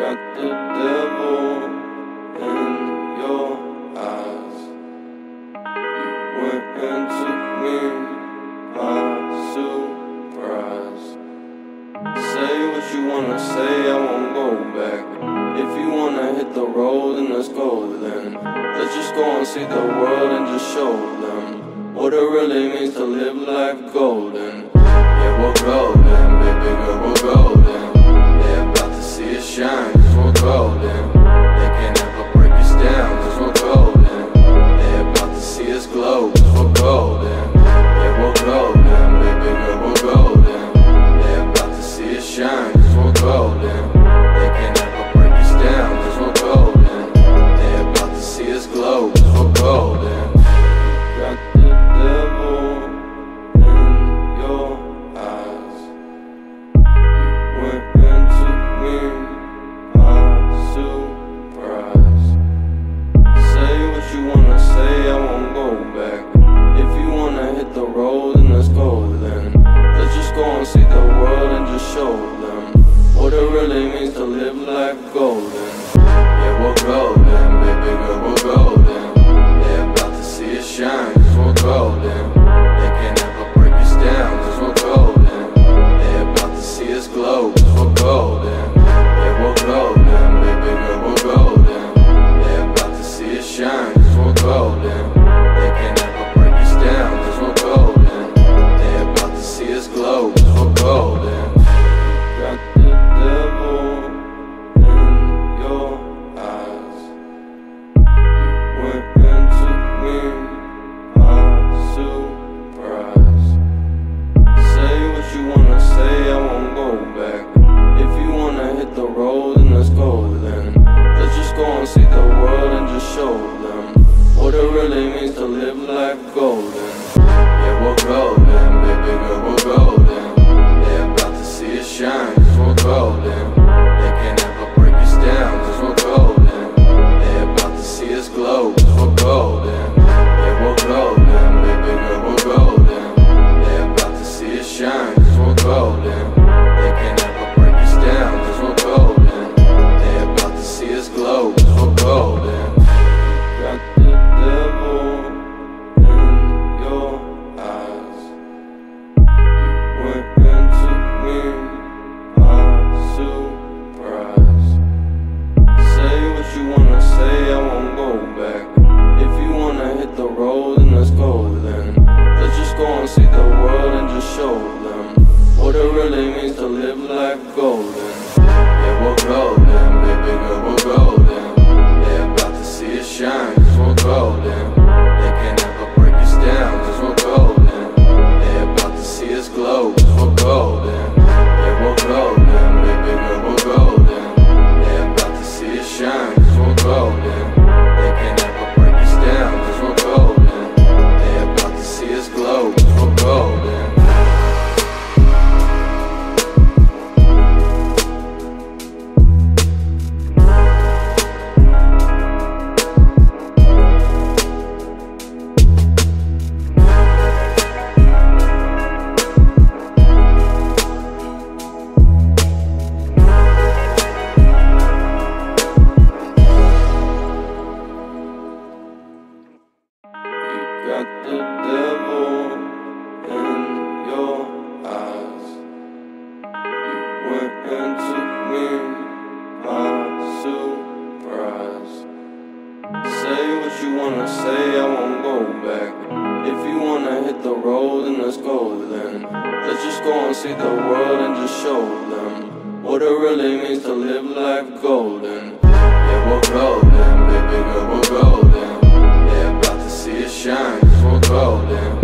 got the devil in your eyes. You went and took me by surprise. Say what you wanna say, I won't go back. If you wanna hit the road, then let's go then. Let's just go and see the world and just show them what it really means to live life golden. Yeah, we're golden, baby girl, we're golden. They're about to see us shine, cause we're golden. They can't ever break us down, cause we're golden. They're about to see us glow, cause we're golden. Yeah, we're golden, baby girl, we're golden. They're about to see us shine, cause we're golden. They can't ever break us down, cause we're golden. They're about to see us glow, cause we're golden. Got the devil in your eyes. You went and took me by surprise. Say what you wanna say, I won't go back. If you wanna hit the road, then let's go then. Let's just go and see the world and just show them what it really means to live life golden. Yeah, we're golden, baby girl, we're golden. They're about to see us shine, cause we're golden. They can't ever break us down, cause we're golden. They're about to see us glow, cause we're golden. Yeah, we're golden, baby girl, we're golden. They're about to see us shine, cause we're golden. They can't ever break us down, cause we're golden. They're about to see us glow, cause we're golden. Got the devil in your eyes. You went and took me by surprise. Say what you wanna say, I won't go back. If you wanna hit the road, then let's go then. Let's just go and see the world and just show them what it really means to live life golden. Yeah, we're golden, baby girl, we're golden. They're about to see us shine, cause we're golden. They can't ever break us down, cause we're golden. They're about to see us glow, cause we're golden. Yeah, we're golden, baby girl, we're golden. They're about to see us shine, cause we're golden. They can't ever break us down, cause we're golden. They're about to see us glow, cause we're golden. Got the devil in your eyes. You went and took me by surprise. Say what you wanna say, I won't go back. If you wanna hit the road, then let's go then. Let's just go and see the world and just show them what it really means to live life golden. Yeah, we're golden, baby girl, we're golden. They're about to see us shine, cause we're golden. They can't ever break us down, cause we're golden. They're about to see us glow, cause we're golden. Yeah, we're golden, baby girl, we're golden. They're about to see us shine, cause we're golden. They can't ever break us down, cause we're golden. They're about to see us glow, cause we're golden. Got the devil in your eyes. You went and took me by surprise. Say what you wanna say, I won't go back. If you wanna hit the road, then let's go then. Let's just go and see the world and just show them what it really means to live life golden. Yeah, we're golden, baby girl, we're golden. They're about to see us shine, cause we're golden.